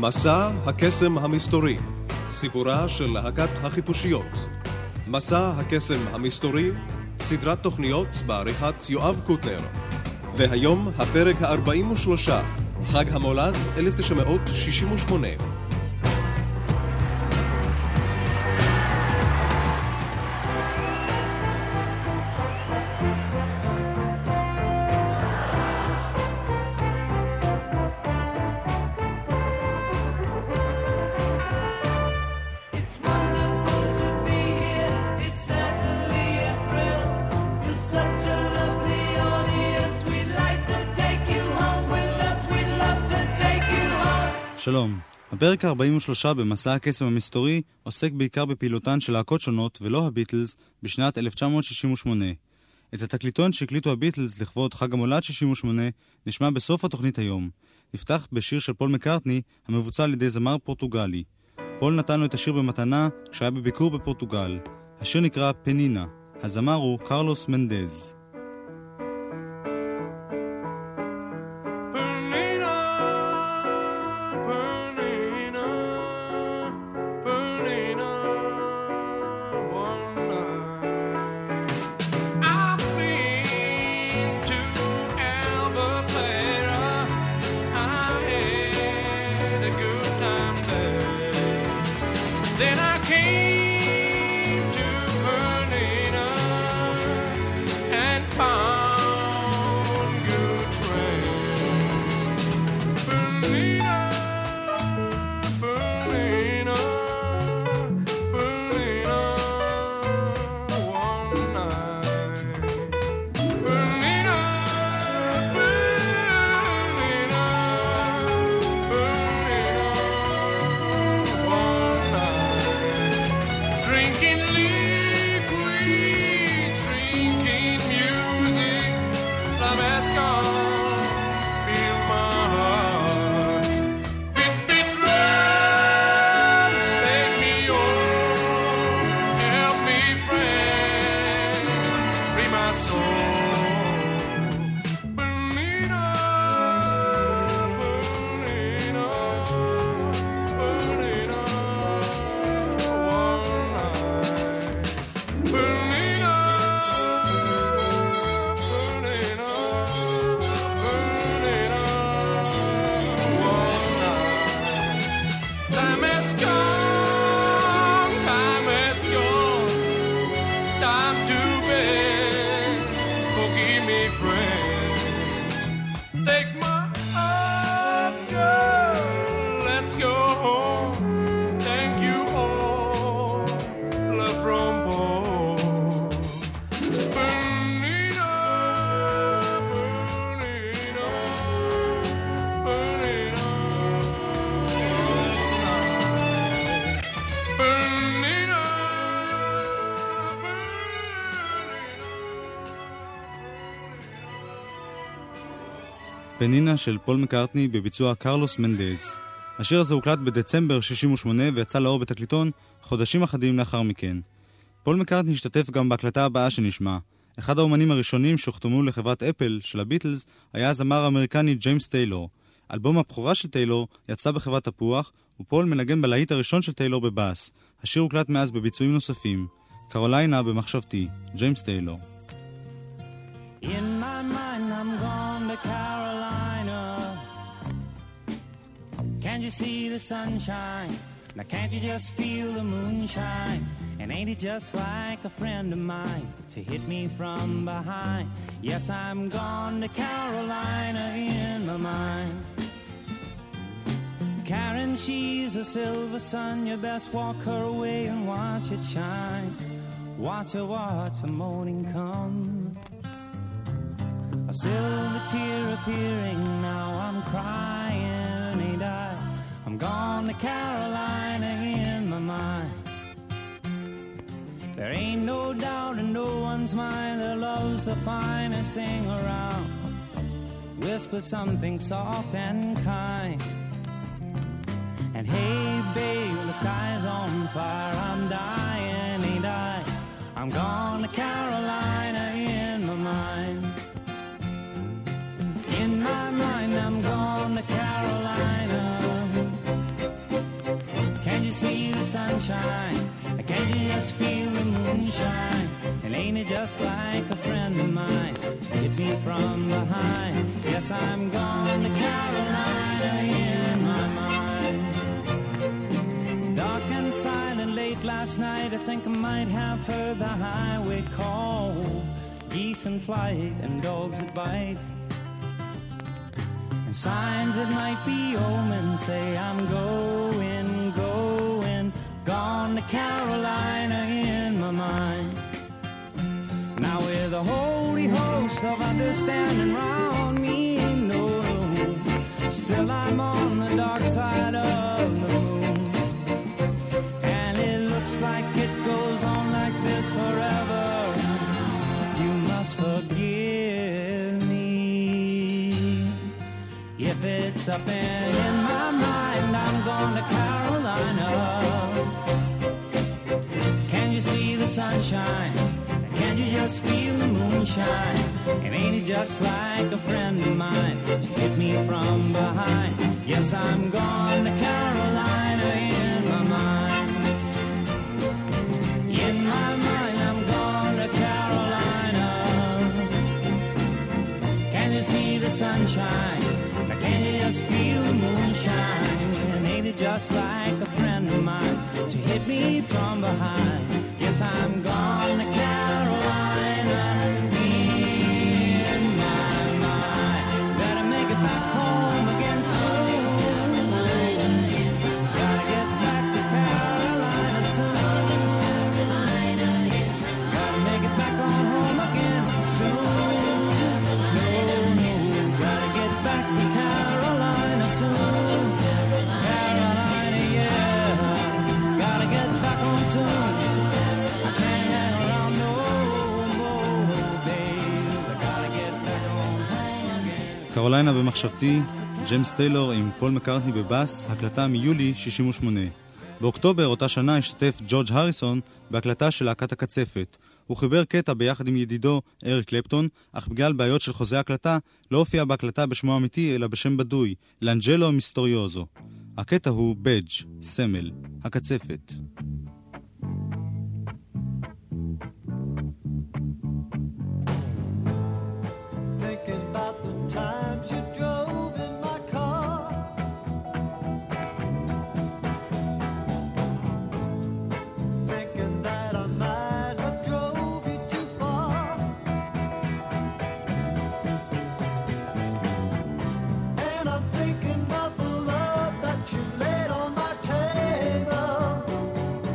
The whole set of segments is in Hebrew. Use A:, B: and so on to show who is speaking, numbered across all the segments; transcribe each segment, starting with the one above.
A: מסע הקסם המסתורי, סיפורה של להקת החיפושיות. מסע הקסם המסתורי, סדרת תוכניות בעריכת יואב קוטנר. והיום הפרק ה-43, חג המולד 1968.
B: שלום, הפרק ה-43 במסע הקסם המסתורי עוסק בעיקר בפעילותן של להקות שונות ולא הביטלס בשנת 1968. את התקליטון שהקליטו הביטלס לכבוד חג המולד 68 נשמע בסוף התוכנית היום. נפתח בשיר של פול מקרטני המבוצע על ידי זמר פורטוגלי. פול נתן לו את השיר במתנה כשהיה בביקור בפורטוגל. השיר נקרא פנינה. הזמר הוא קרלוס מנדז. פנינה של פול מקרטני בביצוע קרלוס מנדז. השיר הזה הוקלט בדצמבר 68 ויצא לאור בתקליטון חודשים אחדים לאחר מכן. פול מקרטני השתתף גם בהקלטה הבאה שנשמע. אחד האומנים הראשונים שהוחתמו לחברת אפל של הביטלס היה הזמר האמריקני ג'יימס טיילור. אלבום הבכורה של טיילור יצא בחברת תפוח, ופול מנגן בלהיט הראשון של טיילור בבאס. השיר הוקלט מאז בביצועים נוספים. קרוליינה במחשבתי, ג'יימס טיילור.
C: In my mind I'm gone to Carolina. Can't you see the sunshine? Now can't you just feel the moonshine? And ain't it just like a friend of mine to hit me from behind? Yes, I'm gone to Carolina in my mind. Karen, she's a silver sun. You best walk her away and watch it shine. Watch her watch the morning come. A silver tear appearing, now I'm crying, ain't I? I'm gone to Carolina in my mind. There ain't no doubt in no one's mind that love's the finest thing around. Whisper something soft and kind. And hey babe, the sky's on fire, I'm dying, ain't I? I'm gone to Carolina in my mind. In my mind I'm gone to Carolina. sunshine? Can't you just feel the moonshine? And ain't it just like a friend of mine to hit me from behind? Yes, I'm gone to Carolina in my mind. Dark and silent late last night, I think I might have heard the highway call. Geese in flight and dogs that bite, and signs that might be omens say I'm going, gone to Carolina in my mind. Now with a holy host of understanding round me, no, still I'm on the dark side of the moon. And it looks like it goes on like this forever. You must forgive me if it's up in my mind. I'm going to Carolina. Can you see the sunshine? Can't you just feel the moonshine? And ain't it just like a friend of mine to hit me from behind? Yes, I'm gone to Carolina in my mind. In my mind, I'm gone to Carolina. Can you see the sunshine? Can you just feel the moonshine? And ain't it just like a friend of mine to hit me from behind? Yes, I'm gone to Carolina in my mind. Better make it back home again soon. Gotta get back to Carolina soon. Gotta make it back on home again soon. No, gotta get back to Carolina soon. Carolina, yeah. Gotta get back home soon.
B: קרוליינה במחשבתי, ג'יימס טיילור עם פול מקארטני בבאס, הקלטה מיולי 68. באוקטובר אותה שנה השתתף ג'ורג' הריסון בהקלטה של להקת הקצפת. הוא חיבר קטע ביחד עם ידידו אריק קלפטון, אך בגלל בעיות של חוזה הקלטה לא הופיע בהקלטה בשמו אמיתי אלא בשם בדוי, לאנג'לו מיסטוריוזו. הקטע הוא בדג', סמל, הקצפת.
D: Thinking about the love that you laid on my table.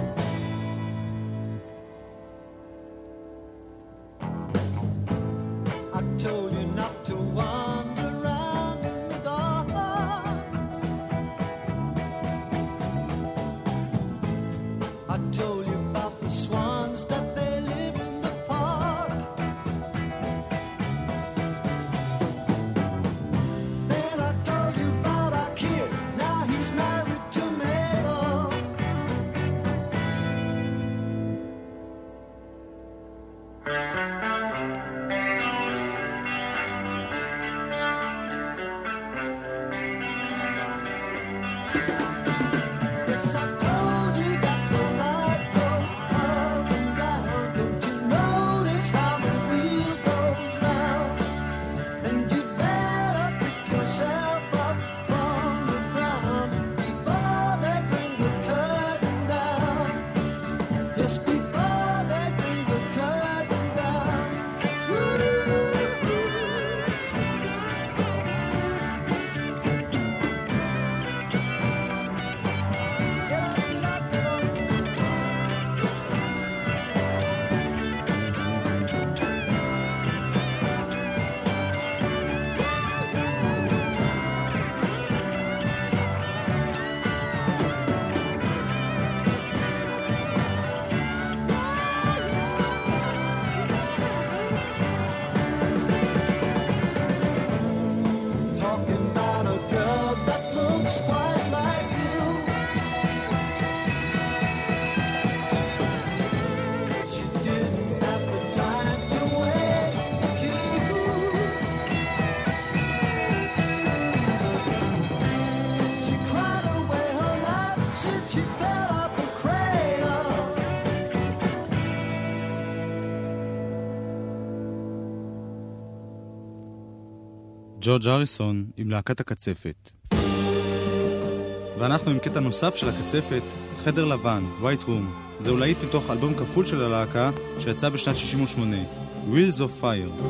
B: ג'ורג' הריסון עם להקת הקצפת. ואנחנו עם קטע נוסף של הקצפת, חדר לבן, White Room. זהו להיט מתוך אלבום כפול של הלהקה שיצא בשנת 68, Wheels of Fire.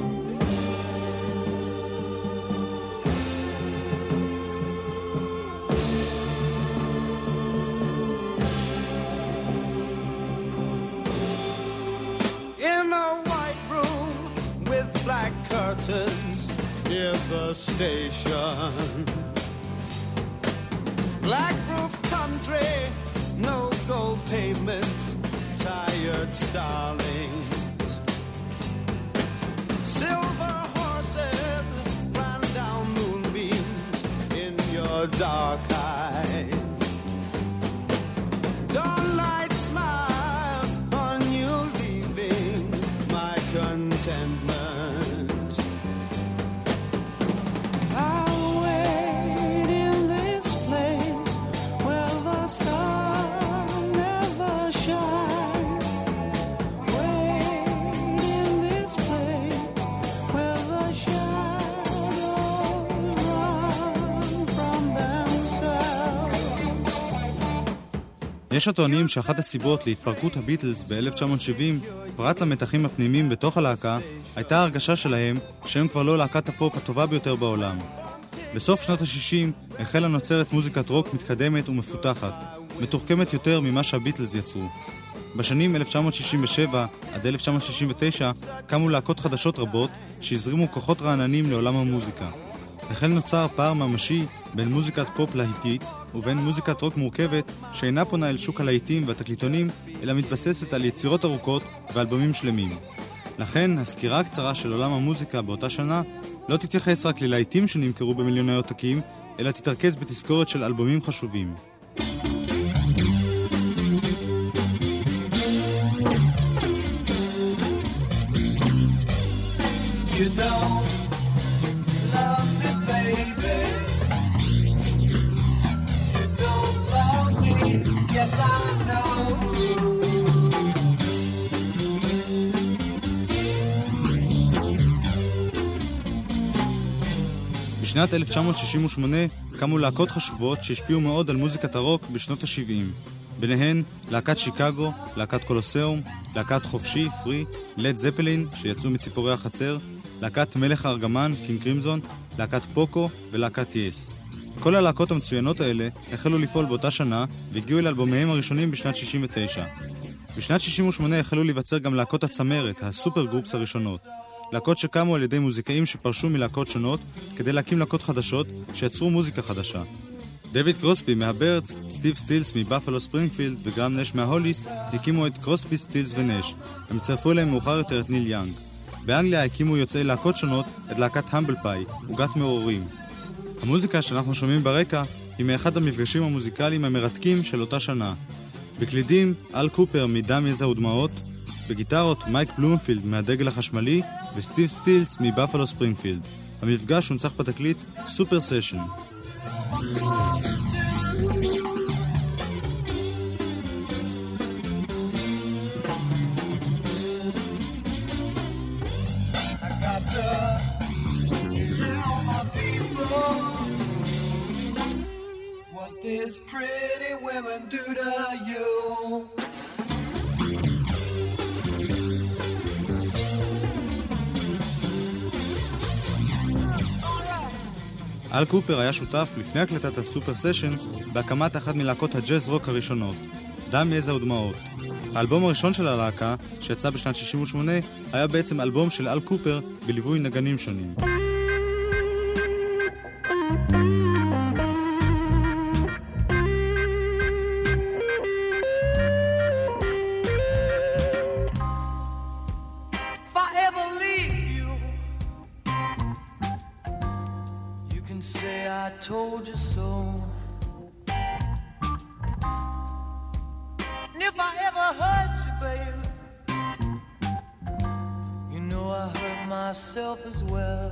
D: Near the station, black roof country, no gold pavement, tired starlings, silver horses ran down moonbeams in your dark eyes. Dawnlight smile on you, leaving my contentment.
B: יש הטוענים שאחת הסיבות להתפרקות הביטלס ב-1970, פרט למתחים הפנימיים בתוך הלהקה, הייתה ההרגשה שלהם שהם כבר לא להקת הפופ הטובה ביותר בעולם. בסוף שנות ה-60 החלה נוצרת מוזיקת רוק מתקדמת ומפותחת, מתוחכמת יותר ממה שהביטלס יצרו. בשנים 1967 עד 1969 קמו להקות חדשות רבות שהזרימו כוחות רעננים לעולם המוזיקה. החל נוצר פער ממשי בין מוזיקת פופ להיטית ובין מוזיקת רוק מורכבת שאינה פונה אל שוק הלהיטים והתקליטונים, אלא מתבססת על יצירות ארוכות ואלבומים שלמים. לכן, הסקירה הקצרה של עולם המוזיקה באותה שנה לא תתייחס רק ללהיטים שנמכרו במיליוני עותקים, אלא תתרכז בתזכורת של אלבומים חשובים.
D: You don't love me, baby. You don't love me. Yes, I know.
B: בשנת 1968 קמו להקות חשובות שהשפיעו מאוד על מוזיקת הרוק בשנות ה-70. ביניהן להקת שיקגו, להקת קולוסיאום, להקת חופשי, פרי, לד זפלין שיצאו מציפורי החצר, להקת מלך הארגמן, קינג קרימזון, להקת פוקו ולהקת יס. כל הלהקות המצוינות האלה החלו לפעול באותה שנה והגיעו אל אלבומיהם הראשונים בשנת 69. בשנת 68 החלו להיווצר גם להקות הצמרת, הסופר גרופס הראשונות. להקות שקמו על ידי מוזיקאים שפרשו מלהקות שונות כדי להקים להקות חדשות שיצרו מוזיקה חדשה. דויד קרוסבי מהברדס, סטיב סטילס מבאפלו ספרינגפילד וגרם נש מההוליס הקימו את קרוסבי, סטילס ונש. הם צרפו להם מאוחר יותר את ניל יאנג. באנגליה הקימו יוצאי להקות שונות את להקת המבל פאי, עוגת מעוררים. המוזיקה שאנחנו שומעים ברקע היא מאחד המפגשים המוזיקליים המרתקים של אותה שנה. בקלידים, אל קופר מדם יזע ודמעות, בגיטרות מייק בלומפילד מהדגל החשמלי וסטיב סטילס מבאפלו ספרינגפילד. המפגש הונצח בתקליט סופר סשן.
D: These pretty women do to you.
B: אל קופר היה שותף לפני הקלטת הסופר סשן בהקמת אחת מלהקות הג'אז רוק הראשונות, דם יזע ודמעות. האלבום הראשון של הלהקה, שיצא בשנת 68, היה בעצם אלבום של אל קופר בליווי נגנים שונים.
D: Told you so. And if I ever hurt you, baby, you know I hurt myself as well.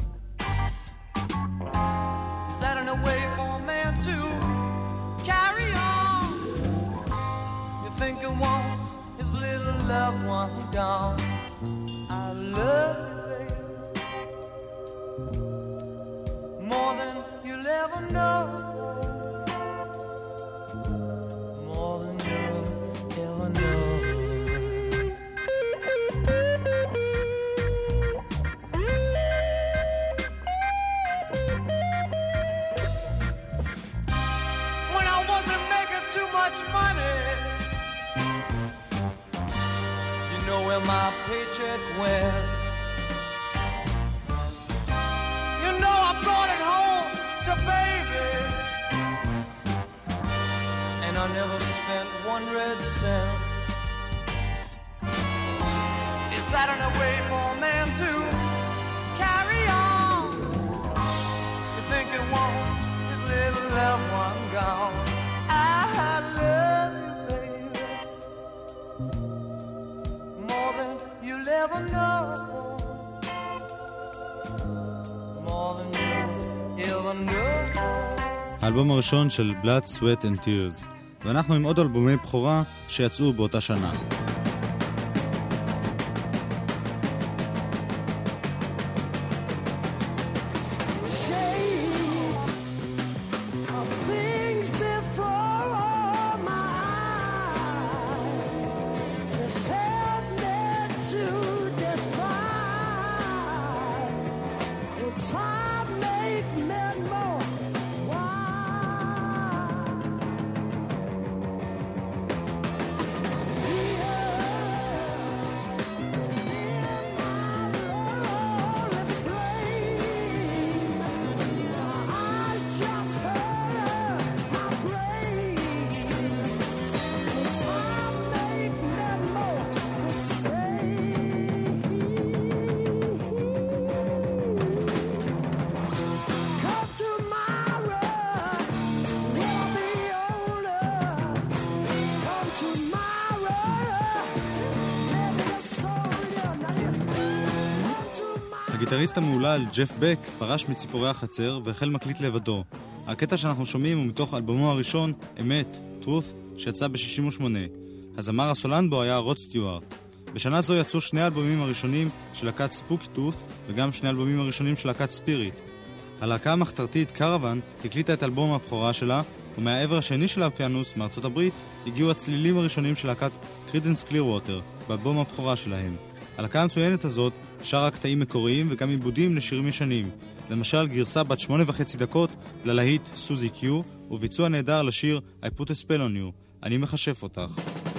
D: Is that in a way for a man to carry on? You think he wants his little loved one gone? I love you, baby. where my paycheck went. You know I brought it home to baby, and I never spent one red cent. Is that an way for a man to carry on? You think it wants his little loved one gone? I love you, baby, more than you'll ever know, more than you'll ever know.
B: האלבום הראשון של Blood, Sweat and Tears, ואנחנו עם עוד אלבומי בכורה שיצאו באותה שנה. הגיטריסט המעולל ג'ף בק פרש מציפורי החצר והחל מקליט לבדו. הקטע שאנחנו שומעים הוא מתוך אלבומו הראשון, אמת, Truth, שיצא ב-68. הזמר הסולן בו היה רוד סטיוארט. בשנה זו יצאו שני האלבומים הראשונים של להקת ספוקי טות וגם שני האלבומים הראשונים של להקת ספיריט. הלהקה המחתרתית קרוון הקליטה את אלבום הבכורה שלה, ומהעבר השני של האוקיינוס, מארצות הברית, הגיעו הצלילים הראשונים של להקת קרידנס קלירווטר באלבום הבכורה שלהם. הלהקה המצוינת הזאת שרה קטעים מקוריים וגם עיבודים לשירים ישנים, למשל גרסה בת 8.5 דקות ללהיט סוזי קיו, וביצוע נהדר לשיר I Put a Spell on You, אני מחשף אותך.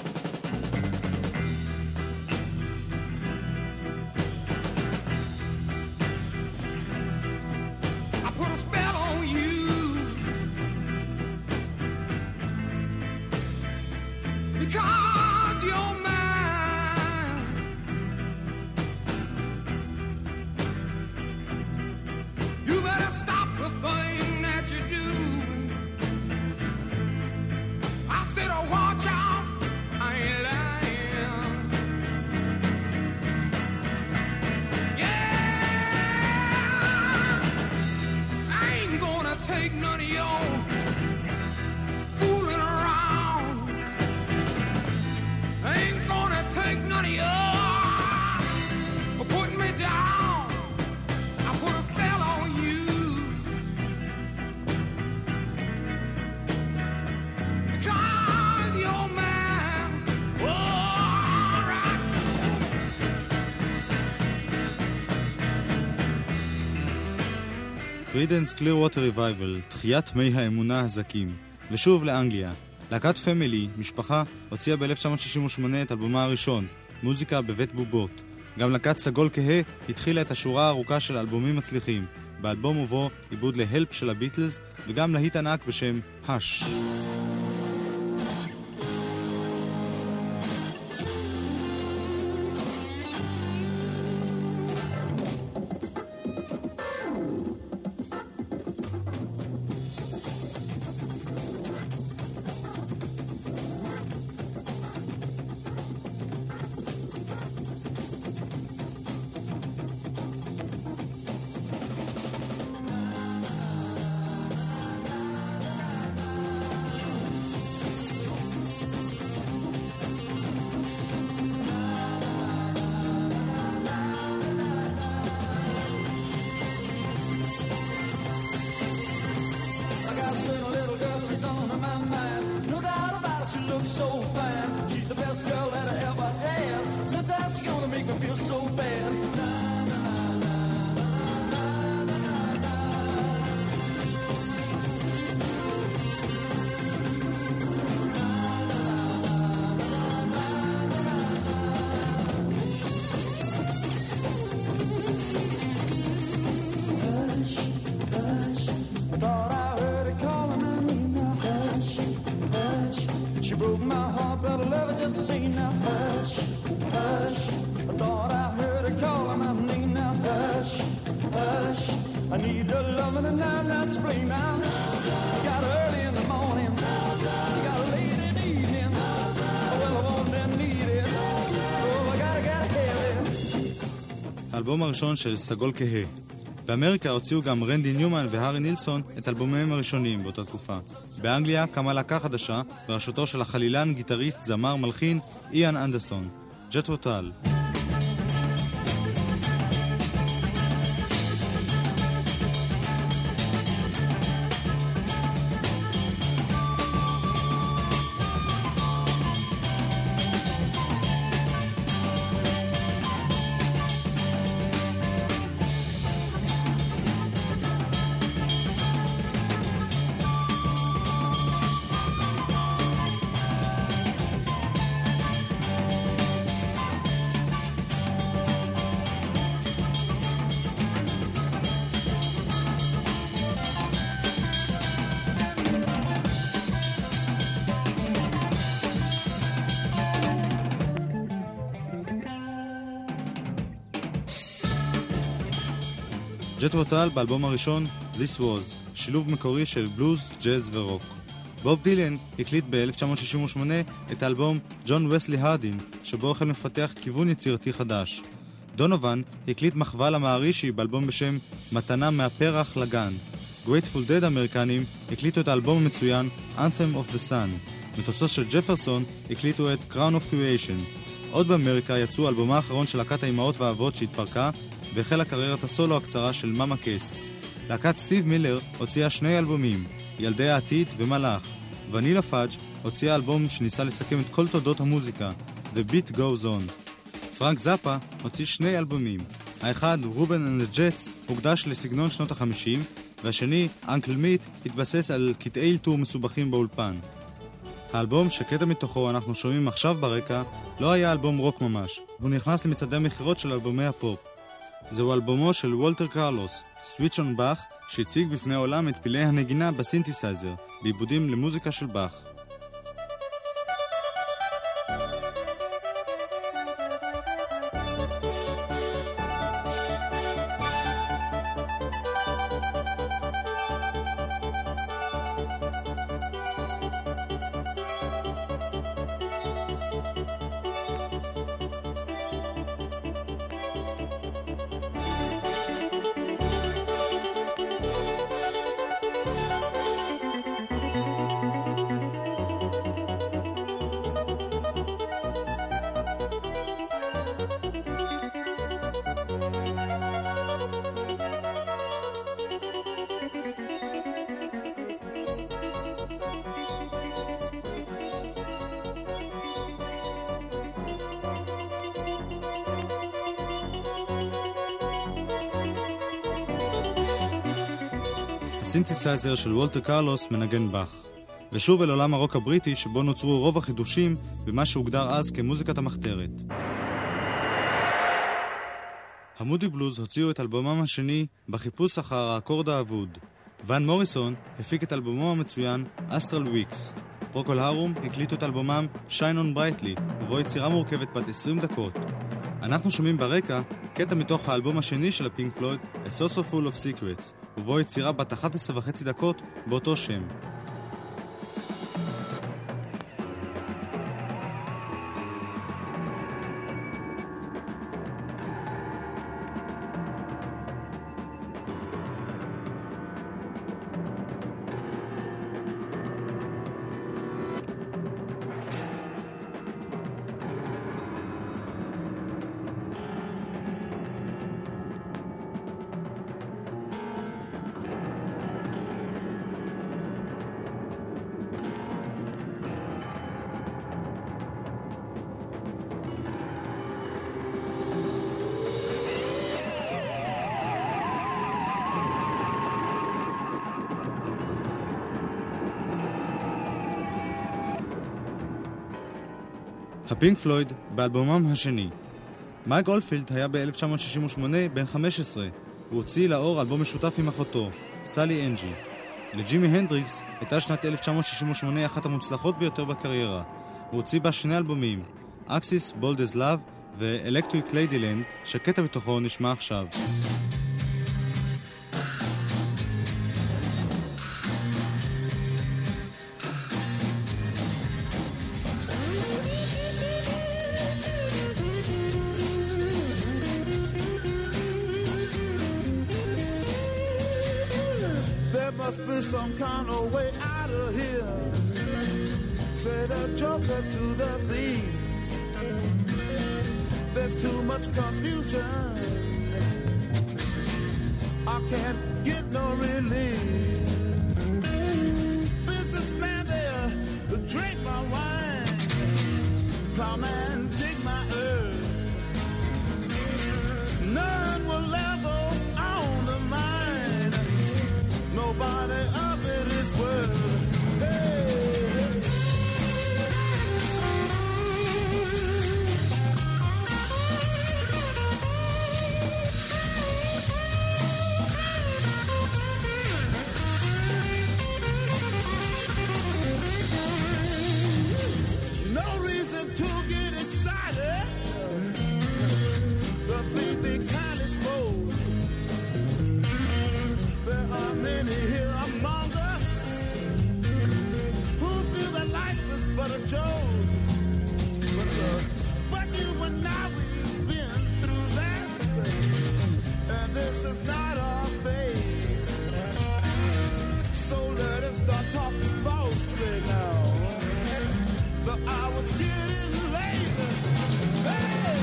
B: קרידנס קלירווטר ריבייבל, תחיית מי האמונה הזקים. ושוב לאנגליה. להקת פמילי, משפחה, הוציאה ב-1968 את אלבומה הראשון, מוזיקה בבית בובות. גם להקת סגול כהה התחילה את השורה הארוכה של אלבומים מצליחים, באלבום ובו עיבוד להלפ של הביטלס, וגם להיט ענק בשם הש.
C: She broke my heart, but I love her just the same. Now hush, hush, I thought I heard her calling my name. Now hush, hush, I need her loving and now not to blame. Now you got her early in the morning, you got her late in the evening. Well, I want and need it, oh, I gotta have it.
B: האלבום הראשון של סגול כהה. באמריקה הוציאו גם רנדי ניומן והארי נילסון את אלבומיהם הראשונים באותה תקופה. באנגליה קמה להקה חדשה בראשותו של החלילן, גיטריסט, זמר, מלחין איאן אנדרסון, ג'ת'רו טאל. ג'ת'רו טאל באלבום הראשון This Was, שילוב מקורי של בלוז, ג'אז ורוק. בוב דילן הקליט ב-1968 את האלבום ג'ון וסלי הרדין, שבו החל מפתח כיוון יצירתי חדש. דונובן הקליט מחווה למערישי באלבום בשם מתנה מהפרח לגן. גרייטפול דד האמריקנים הקליטו את האלבום המצוין Anthem of the Sun. מטוסו של ג'פרסון הקליטו את Crown of Creation. עוד באמריקה יצאו אלבומה האחרון של להקת האימהות והאבות שהתפרקה, והחלה קריירת הסולו הקצרה של מאמה קייס. להקת סטיב מילר הוציאה 2 אלבומים, ילדי העתיד ומלאך. ונילה פאג' הוציאה אלבום שניסה לסכם את כל תולדות המוזיקה, The Beat Goes On. פרנק זאפה הוציא 2 אלבומים. האחד, רובן and the Jets, הוקדש לסגנון שנות ה-50, והשני, אנקל מיט, התבסס על קטעי אלתור מסובכים באולפן. האלבום שקטע מתוכו אנחנו שומעים עכשיו ברקע לא היה אלבום רוק ממש, הוא נכנס למצעדי המכירות של אלבומי הפופ. זהו אלבומו של וולטר קרלוס, סוויץ' און באך, שהציג בפני העולם את פילי הנגינה בסינתסייזר, בעיבודים למוזיקה של באך. הסינתסייזר של וולטר קרלוס מנגן באך. ושוב אל עולם הרוק הבריטי שבו נוצרו רוב החידושים במה שהוגדר אז כמוזיקת המחתרת. המודי בלוז הוציאו את אלבומם השני בחיפוש אחר האקורד האבוד. ון מוריסון הפיק את אלבומו המצוין אסטרל וויקס. פרוקול הרום הקליטו את אלבומם שיין און ברייטלי, ובו יצירה מורכבת בת 20 דקות. אנחנו שומעים ברקע קטע מתוך האלבום השני של הפינק פלויד, A Saucer Full of Secrets, ובו יצירה בת 11.5 דקות באותו שם. הפינק פלויד באלבומם השני. מייק אולפילד היה ב-1968 בן 15. הוא הוציא לאור אלבום משותף עם אחותו, סלי אנג'י. לג'ימי הנדריקס הייתה שנת 1968 אחת המוצלחות ביותר בקריירה. הוא הוציא בה 2 אלבומים, Axis, Bold as Love ו-Electric Ladyland, שקטע בתוכו נשמע עכשיו.
E: Must be some kind of way out of here. Say the joker to the thief. There's too much confusion. I can't get no relief. Businessman there, drink my wine. Plowman, dig my earth. None will level on the mine. Nobody of it is worth. Hey, hey. No reason to get excited. The baby kind is full. There are many here among us who feel that life is but a joke. But you and I, we've been through that, and this is not our fate. So let us start talking falsely now. The hour's getting late. Hey!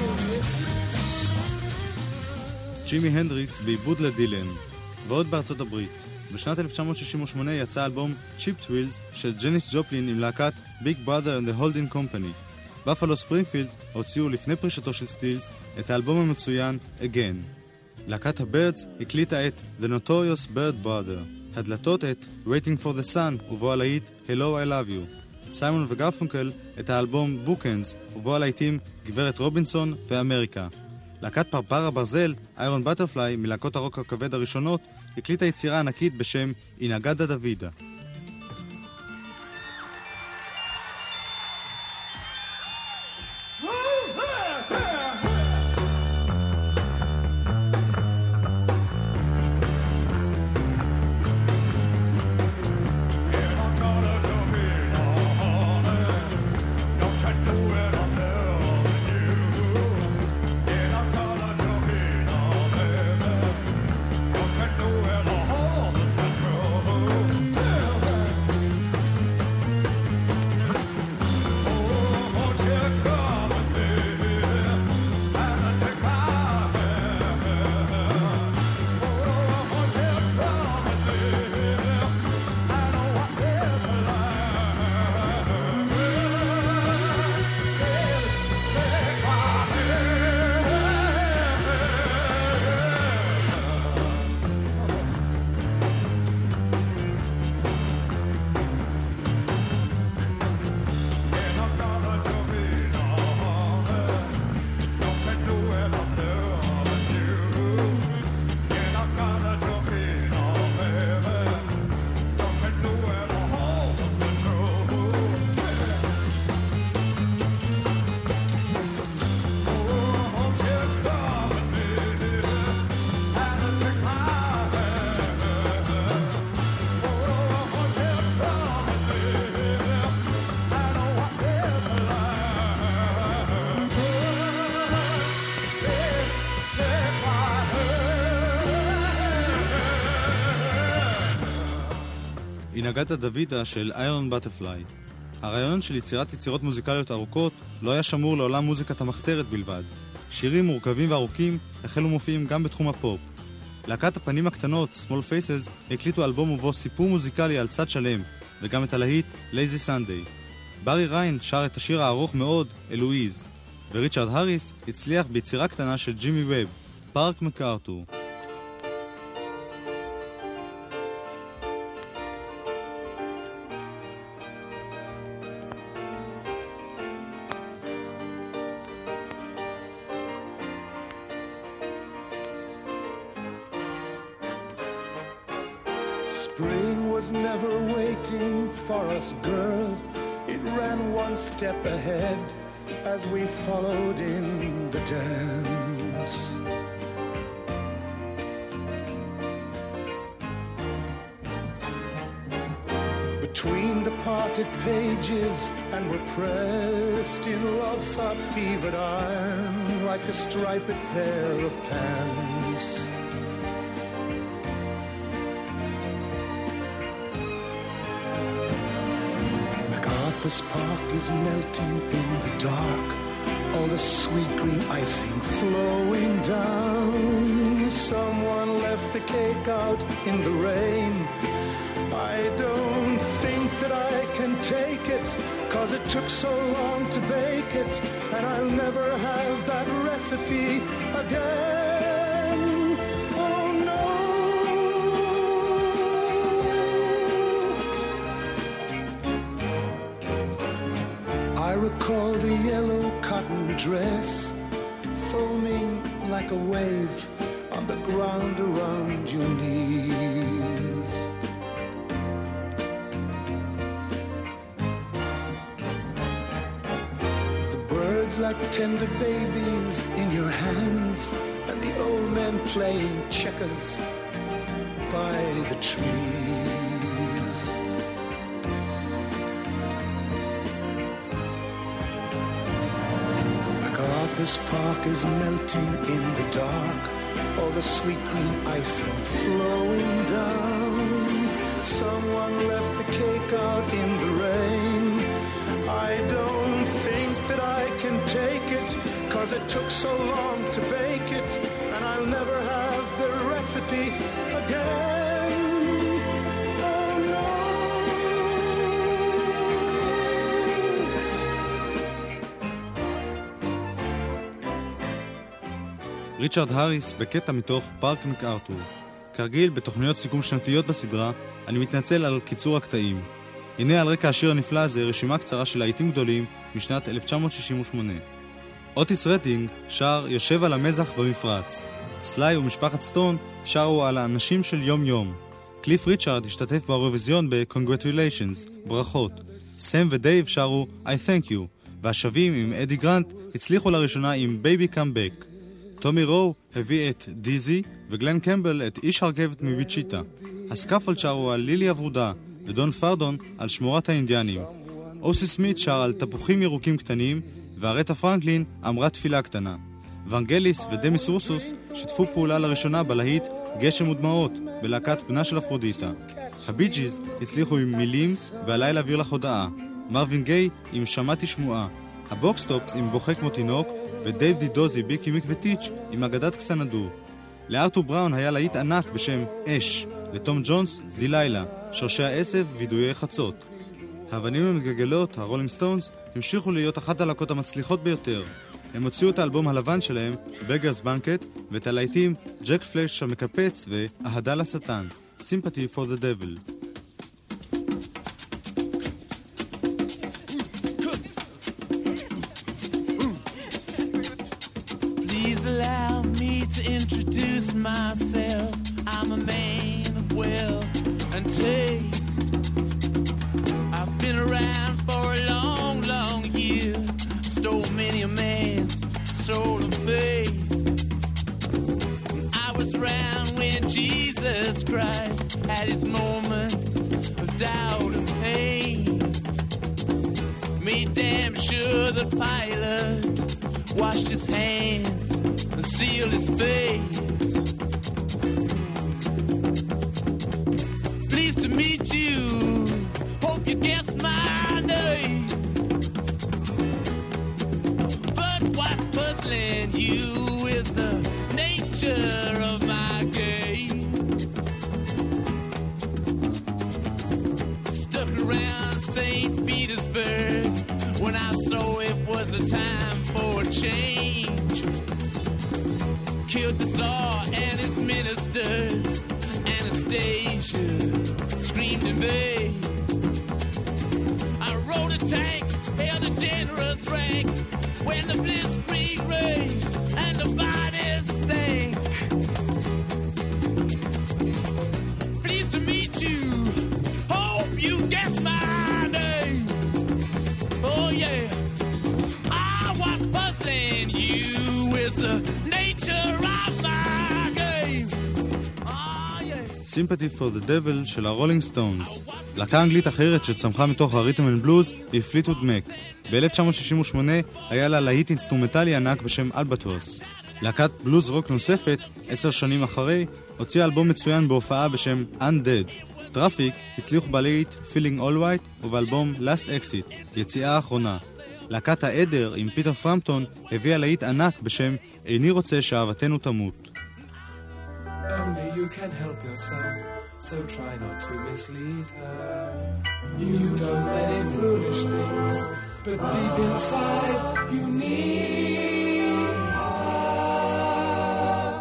B: ג'ימי הנדריקס בעיבוד לדילן. ועוד בארצות הברית. בשנת 1968 יצא אלבום צ'יפ טווילס של ג'ניס ג'ופלין עם להקת ביג בראדר and the Holding Company. בפלו ספרינגפילד הוציאו לפני פרישתו של סטילס את האלבום המצוין Again. להקת הבירדס הקליטה את The Notorious Bird Brother, הדלתות את Waiting for the Sun ובו הלהיט Hello I Love You. סיימון וגרפונקל את האלבום Bookends ובו הלהיטים גברת רובינסון ואמריקה. להקת פרפר הברזל, איירון בטרפליי, מלהקות הרוק הכבד הראשונות, הקליטה יצירה ענקית בשם אינגדה דוידה. אינגדה דוידה של איירון בטרפליי. הרעיון של יצירת יצירות מוזיקליות ארוכות לא היה שמור לעולם מוזיקת המחתרת בלבד. שירים מורכבים וארוכים החלו מופיעים גם בתחום הפופ. להקת הפנים הקטנות, Small Faces, הקליטו אלבום ובו סיפור מוזיקלי על צד שלם, וגם את הלהיט Lazy Sunday. ברי ריין שר את השיר הארוך מאוד, אלואיז, וריצ'רד הריס הצליח ביצירה קטנה של ג'ימי ווב, פארק מקארתור.
E: Spring was
F: was never waiting for us, girl. It ran one step ahead as we followed in the dance. Between the parted pages and we're pressed in love's hot fevered iron like a striped pair of pants. MacArthur's Park is melting in the dark, all the sweet green icing flowing down. Someone left the cake out in the rain. I don't think that I can take it, 'cause it took so long to bake it, and I'll never have that recipe again. Oh no. I recall the yellow cotton dress foaming like a wave on the ground around your knees. Like tender babies in your hands, and the old men playing checkers by the trees. MacArthur's Park is melting in the dark, all the sweet green icing flowing down. Someone left the cake out in the rain. I don't think that I can take it, 'cause it took so long to bake it, and I'll never have the recipe again. Oh no.
B: ריצ'רד האריס בקטע מתוך פארק מקארתור. כרגיל בתוכניות סיכום שנתיות בסדרה, אני מתנצל על קיצור הקטעים. הנה על רקע השיר הנפלא הזה רשימה קצרה של להיטים גדולים משנת 1968. אוטיס רדינג שר יושב על המזח במפרץ. סליי ומשפחת סטון שרו על האנשים של יום יום. קליף ריצ'רד השתתף באירוויזיון ב-Congratulations, ברכות. סם ודייב שרו I Thank You, והשווים עם אדי גרנט הצליחו לראשונה עם Baby Come Back. טומי רו הביא את דיזי וגלן קמבל את איש הרכבת מביצ'יטה. הסקאפולד שרו על לילי הברודה ודון פרדון על שמורת האינדיאנים. אוסי סמית שר על תפוחים ירוקים קטנים, והרטה פרנקלין אמרה תפילה קטנה. ונגליס ודמיס רוסוס שיתפו פעולה לראשונה בלהיט גשם ודמעות בלהקת בנה של אפרודיטה. הבי ג'יז הצליחו עם מילים והלילה אוויר לך הודעה. מרווין גיי עם שמעתי שמועה. הבוקסטופס עם בוכה כמו תינוק, ודייב דידוזי ביקי מיק וטיץ' עם אגדת קסנדו. לארתור בראון היה להיט ענק בשם אש, לתום ג'ונס דילילה, שורשי העשב וידויי חצות. האבנים המגלגלות, הרולינג סטונס, המשיכו להיות אחת הלהקות המצליחות ביותר. הם הוציאו את האלבום הלבן שלהם, בגרס בנקט, ואת הלהיטים ג'ק פלש המקפץ ואהדה לשטן, Sympathy for the Devil.
G: Please allow me to introduce myself. I'm a man of wealth and taste. I've been around for a long, long year. Stole many a man's soul of faith. I was around when Jesus Christ had his moment of doubt and pain. Made damn sure the pilot washed his hands and sealed his face. Pleased to meet you. Hope you guess my name. But what's puzzling you is the nature of my game. Stuck around St. Petersburg when I saw it was a time for a change. Killed the Tsar and his ministers. Anastasia screamed in vain. I rode a tank, held a generous rank when the blitzkrieg raged and the bodies stank. Pleased to meet you.
B: Sympathy for the Devil של הרולינג סטונס. להקה אנגלית אחרת שצמחה מתוך הרית'ם אנד בלוז היא פליטווד מק. ב-1968 היה לה להיט אינסטרומנטלי ענק בשם אלבטרוס. להקת בלוז רוק נוספת, 10 שנים אחרי, הוציאה אלבום מצוין בהופעה בשם Undead. טראפיק הצליחו בלהיט Feeling All White ובאלבום Last Exit, יציאה האחרונה. להקת העדר עם פיטר פרמפטון הביאה להיט ענק בשם איני רוצה שאהבתנו תמות.
H: Only you can help yourself, so try not to mislead her. You've done many foolish things, but deep inside you need her.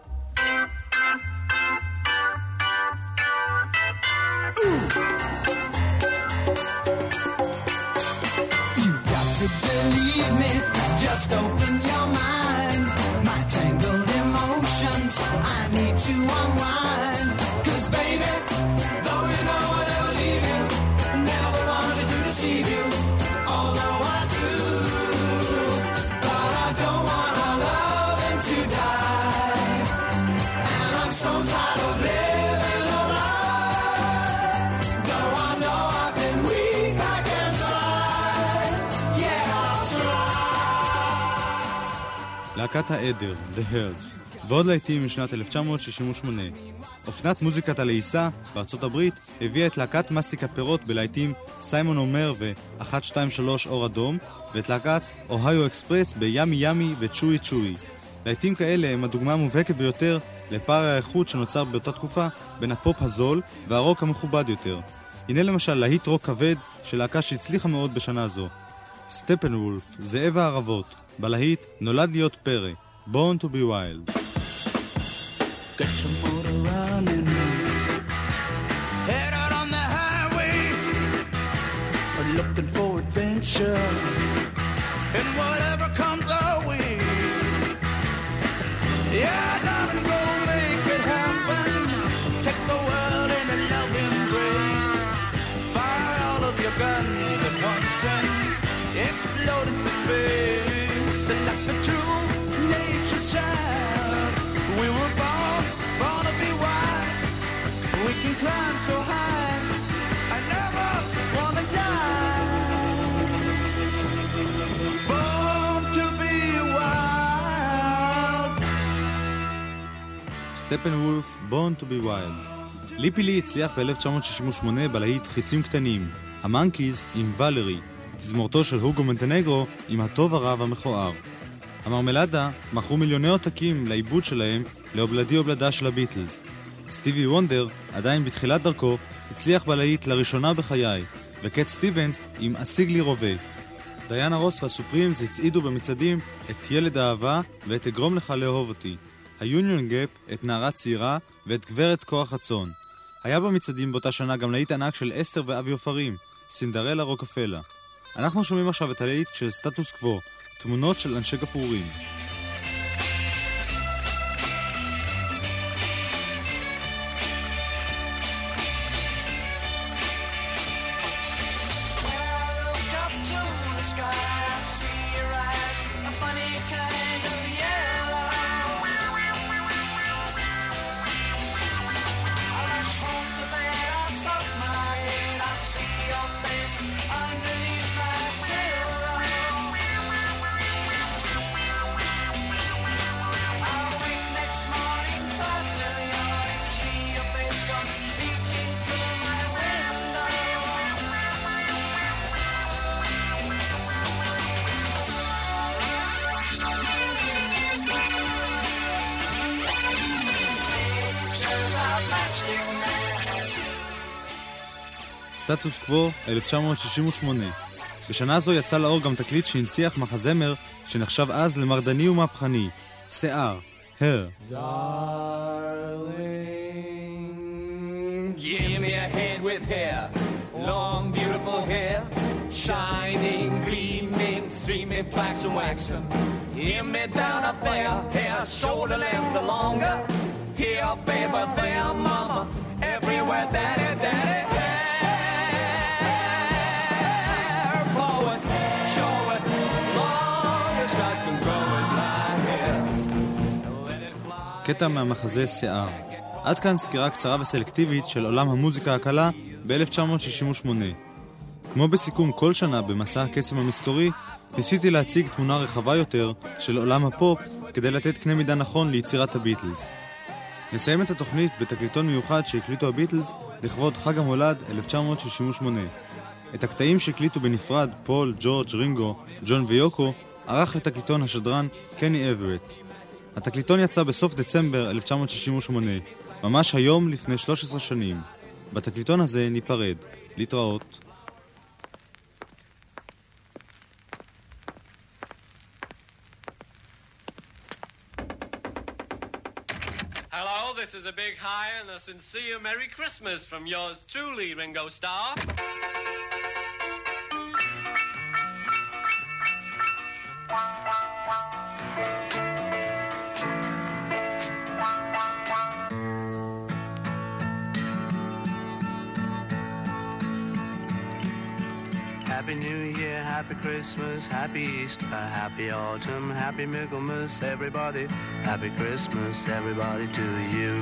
H: You got to believe me, just open your mind. My tangled emotions, I need to unwind. 'Cause baby, though you know I never leave you, never wanted to deceive you, although I do. But I don't want our loving to die, and I'm so tired of living a lie. Though I know I've been weak, I can try. Yeah, I'll try.
B: להקת העדר, The Herd, ועוד להיטים משנת 1968. אופנת מוזיקת הלעיסה בארצות הברית הביאה את להקת מסטיק הפירות בלהיטים סיימון אומר ו-123 אור אדום, ואת להקת אוהיו אקספרס בימי ימי וצ'וי צ'וי. להיטים כאלה הם הדוגמה המובהקת ביותר לפער האיכות שנוצר באותה תקופה בין הפופ הזול והרוק המכובד יותר. הנה למשל להיט רוק כבד של להקה שהצליחה מאוד בשנה זו. סטפנוולף, זאב הערבות, בלהיט נולד להיות פרא, Born to be Wild.
C: Get your motor running, head out on the highway, looking for adventure, and whatever comes our way. Yeah, darling, go make it happen. Take the world in a loving embrace. Fire all of your guns at once and explode into space. And like the true nature's child, we were born to be wild. We can climb so high, I never wanna die. Born to be wild.
B: סטפנוולף, Born to be Wild. ליפי לי הצליח ב-1968 בלהיט חיצים קטנים, המנקיז עם ולרי, תזמורתו של הוגו מונטנגרו עם הטוב הרב המכוער. המרמלדה מכרו מיליוני עותקים לעיבוד שלהם לאובלדי אובלדה של הביטלס. סטיבי וונדר, עדיין בתחילת דרכו, הצליח בלהיט לראשונה בחיי, וקט סטיבנס עם אשיג לי רובה. דיאנה רוס והסופרימס הצעידו במצעדים את ילד האהבה ואת אגרום לך לאהוב אותי, היוניון גאפ את נערה צעירה ואת גברת כוח הצאן. היה במצעדים באותה שנה גם להיט ענק של אסתר ואבי עופרים, סינדרלה רוקפלה. אנחנו שומעים עכשיו את הלהיט של סטטוס קוו, תמונות של אנשי גפרורים. סטטוס קוו, 1968. בשנה זו יצא לאור גם תקליט שהנציח מחזמר שנחשב אז למרדני ומהפכני, שיער, Hair.
G: Darling, give me a hand with hair, long beautiful hair, shining, gleaming, streaming, flaxen, waxen. Give me down up there, hair, shoulder length or longer. Here, baby, there, mama, everywhere, daddy, daddy.
B: קטע מהמחזה שיער. עד כאן סקירה קצרה וסלקטיבית של עולם המוזיקה הקלה ב-1968. כמו בסיכום כל שנה במסע הקסם המסתורי, ניסיתי להציג תמונה רחבה יותר של עולם הפופ כדי לתת קנה מידה נכון ליצירת הביטלס. נסיים את התוכנית בתקליטון מיוחד שהקליטו הביטלס לכבוד חג המולד 1968. את הקטעים שהקליטו בנפרד פול, ג'ורג', רינגו, ג'ון ויוקו ערך לתקליטון השדרן קני אברט. התקליטון יצא בסוף דצמבר 1968, ממש היום לפני 13 שנים. בתקליטון הזה ניפרד. להתראות.
I: Hello, this is a big hi and a sincere Merry Christmas from yours truly, Ringo Starr.
J: Happy New Year, Happy Christmas, Happy Easter, Happy Autumn, Happy Michaelmas, everybody. Happy Christmas, everybody, to you.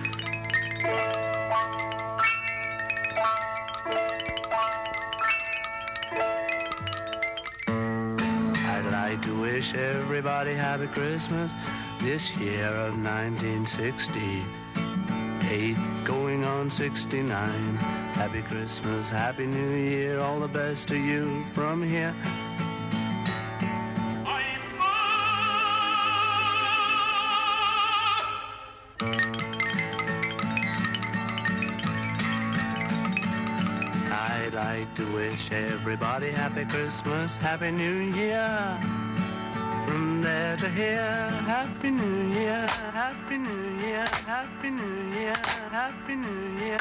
J: I'd like to wish everybody Happy Christmas this year of 1968, going on 69. Happy Christmas, Happy New Year, all the best to you from here. I'd like to wish everybody Happy Christmas, Happy New Year. From there to here, Happy New Year, Happy New Year, Happy New Year, Happy New Year.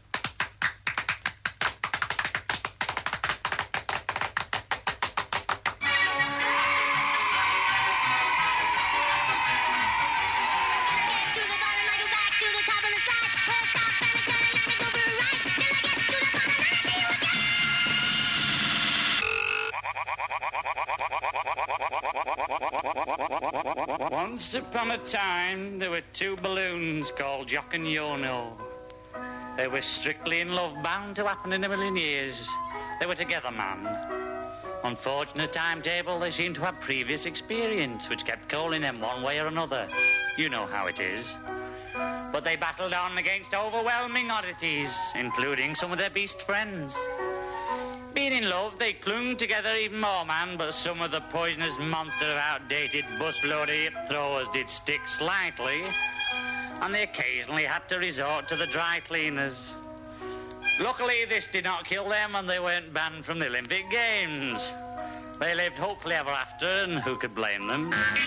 K: Once upon a time, there were two balloons called Jock and Yono. They were strictly in love, bound to happen in a million years. They were together, man. Unfortunate timetable, they seemed to have previous experience, which kept calling them one way or another. You know how it is. But they battled on against overwhelming oddities, including some of their beast friends. Being in love, they clung together even more, man, but some of the poisonous monster of outdated busload hip throwers did stick slightly, and they occasionally had to resort to the dry cleaners. Luckily, this did not kill them, and they weren't banned from the Olympic Games. They lived hopefully ever after, and who could blame them?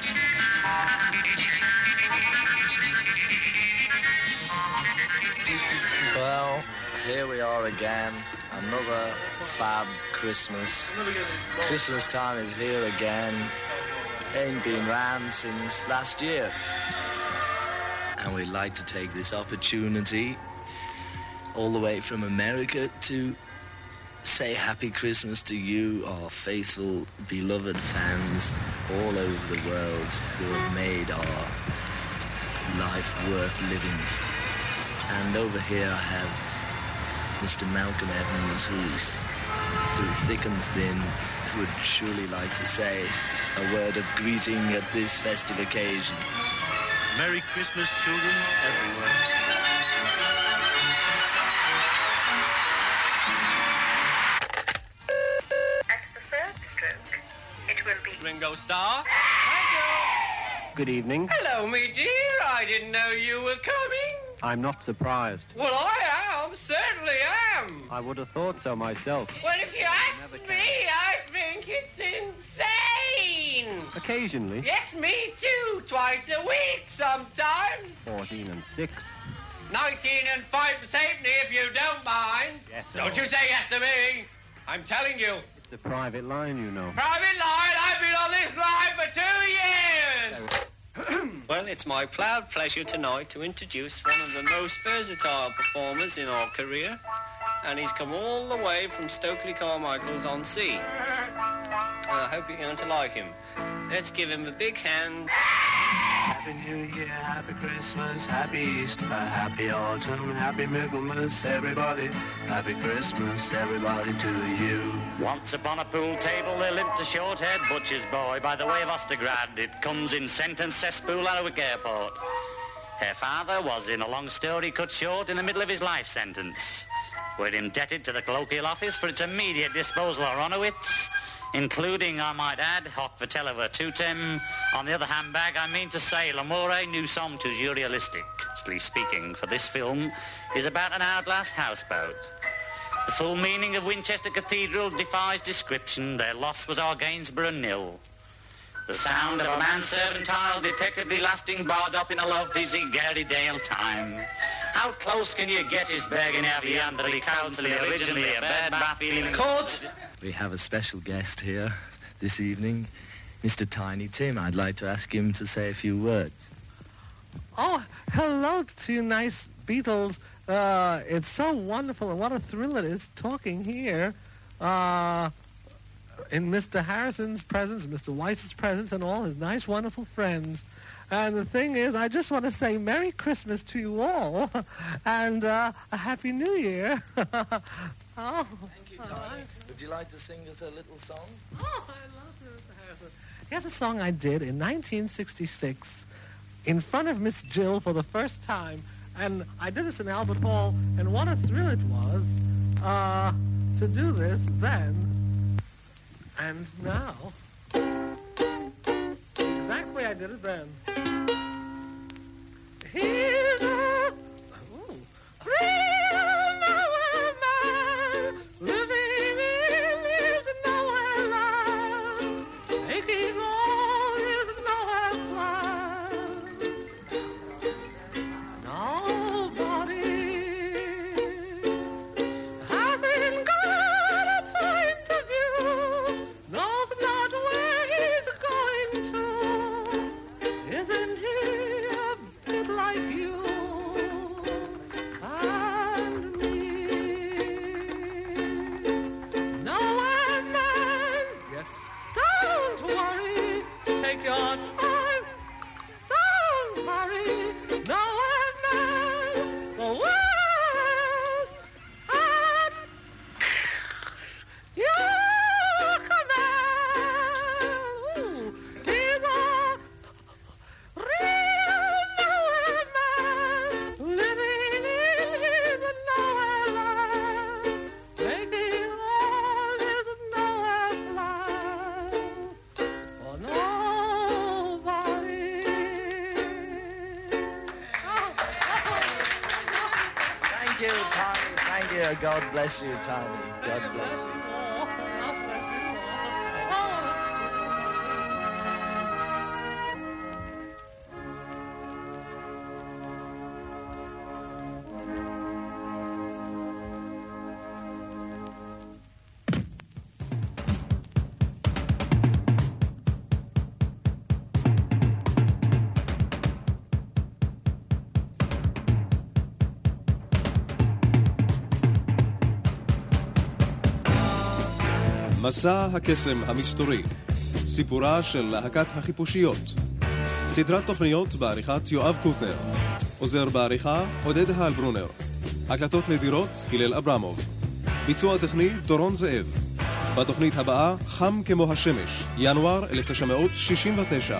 L: Well, here we are again. Another fab Christmas. Christmas time is here again. Ain't been round since last year. And we'd like to take this opportunity all the way from America to say Happy Christmas to you, our faithful, beloved fans all over the world who have made our life worth living. And over here I have Mr. Malcolm Evans, who's through thick and thin would surely like to say a word of greeting at this festive occasion.
M: Merry Christmas, children everywhere.
N: At the third stroke, it will be
I: Ringo Starr.
O: Good evening.
I: Hello, me dear. I didn't know you were coming.
O: I'm not surprised.
I: Well, I am. Certainly am.
O: I would have thought so myself.
I: Well, if you ask me, I think it's insane.
O: Occasionally.
I: Yes, me too. Twice a week sometimes.
O: 14 and 6.
I: 19 and 5 halfpenny, if you don't mind.
O: Yes, sir.
I: Don't you say yes to me. I'm telling you.
O: It's a private line, you know.
I: Private line? I've been on this line for 2 years. Well, it's my proud pleasure tonight to introduce one of the most versatile performers in our career, and he's come all the way from Stokely Carmichael's on Sea. And I hope you're going to like him. Let's give him a big hand.
J: Happy New Year, Happy Christmas, Happy Easter, Happy Autumn, Happy Michaelmas, everybody. Happy Christmas, everybody, to you.
K: Once upon a pool table there lived a short-haired butcher's boy by the way of Ostergrad. It comes in sentence cesspool Alnwick Airport. Her father was, in a long story cut short, in the middle of his life sentence. We're indebted to the colloquial office for its immediate disposal of Ronowitz, including, I might add, Hoc Vitello Virtutem. On the other handbag, I mean to say, L'amore nous sommes toujours realistically speaking, for this film is about an hourglass houseboat. The full meaning of Winchester Cathedral defies description. Their loss was our Gainsborough nil. The sound of a manservant tile detectably lasting barred up in a lovely Gary Dale time. How close can you get his Bergen Aviandri Council, originally a bad Baffy court?
L: We have a special guest here this evening, Mr. Tiny Tim. I'd like to ask him to say a few words.
P: Oh, hello to you nice Beatles. It's so wonderful, and what a thrill it is talking here in Mr. Harrison's presence, Mr. Weiss's presence, and all his nice, wonderful friends. And the thing is, I just want to say Merry Christmas to you all, and a Happy New Year. Oh.
L: Thank you, Tiny. Would you like to sing us a little song?
P: Oh, I love Mr. Harrison. Here's a song I did in 1966 in front of Miss Jill for the first time. And I did this in Albert Hall, and what a thrill it was to do this then and now. The exact way I did it then. Here's a real nowhere man living in his nowhere land, making all his nowhere plans. Nobody hasn't got a point of view, knows not where he's going to. Isn't he a bit like you and me? Nowhere man, yes, don't worry, take your time, don't worry. Nowhere man, the world's at your command. Ooh, he's a real nowhere man, living in his nowhere land, making all his nowhere plans for nobody.
L: Thank you, Tiny. Thank you. God bless you, Tiny. God bless you.
A: מסע הקסם המסתורי, סיפורה של להקת החיפושיות. סדרת תוכניות בעריכת יואב קוטנר, עוזר בעריכה עודד הלברונר, הקלטות נדירות הלל אברמוב, ביצוע טכני דורון זאב. בתוכנית הבאה חם כמו השמש, ינואר 1969.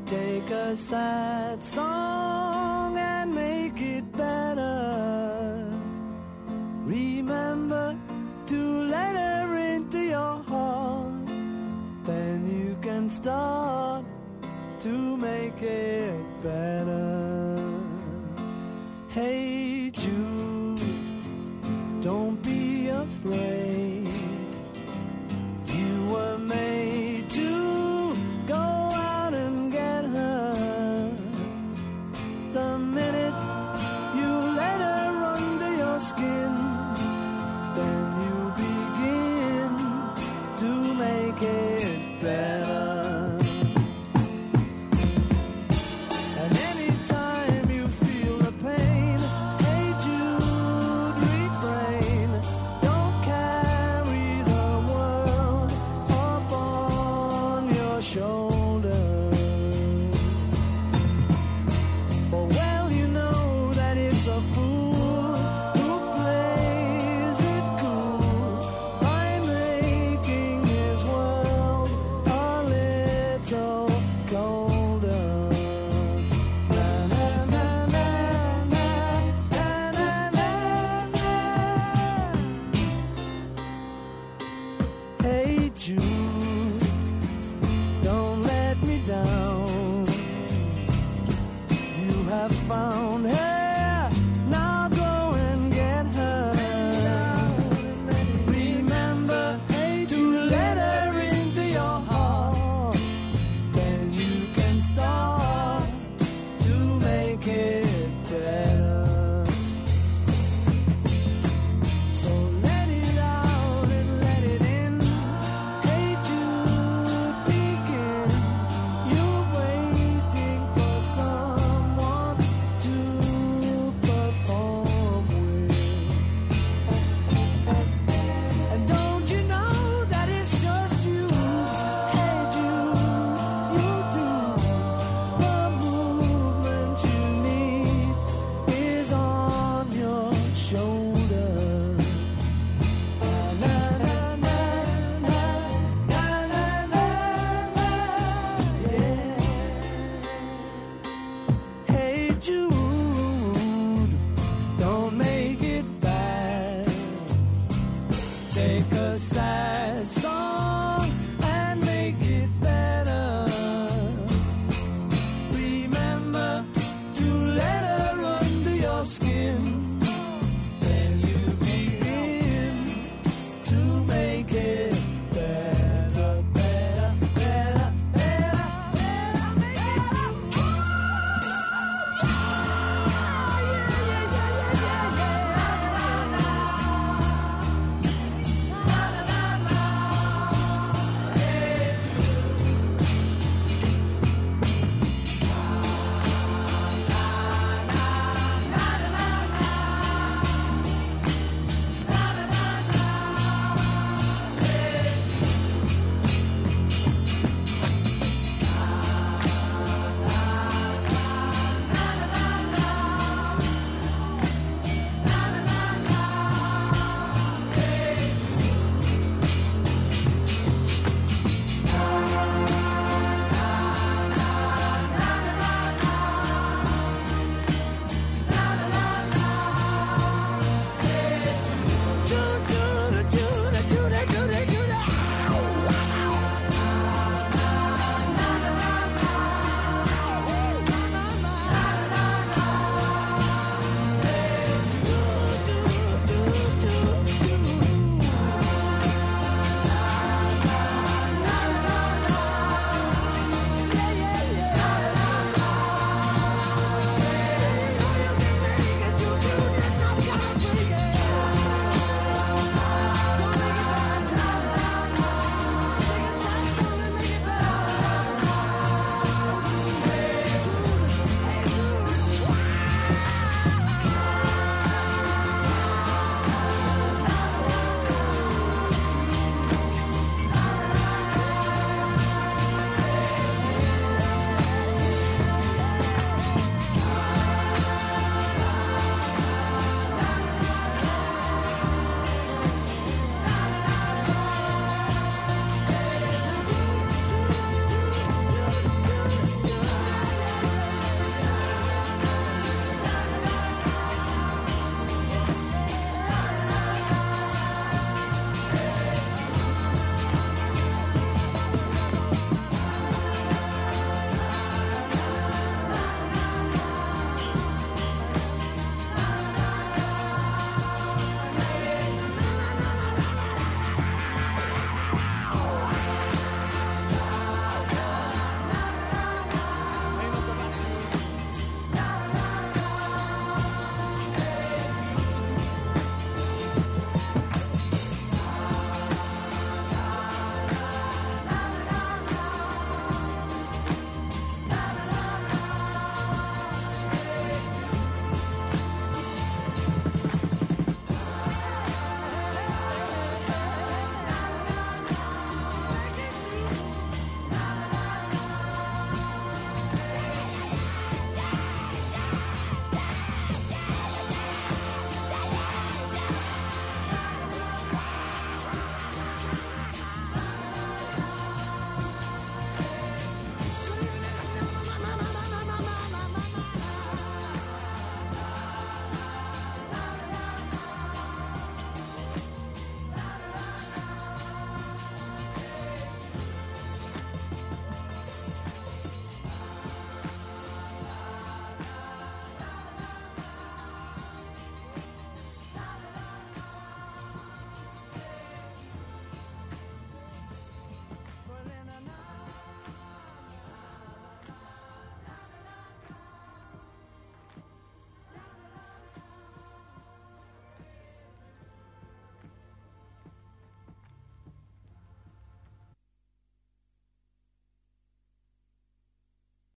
H: take a sad song and make it better. Remember to let her into your heart, then you can start to make it better. Hey Jude, don't be afraid. You were made to go out and get her. The minute you let her under your skin, then you begin to make it better. And anytime you feel the pain, hey Jude, refrain. Don't carry the world up on your shoulders.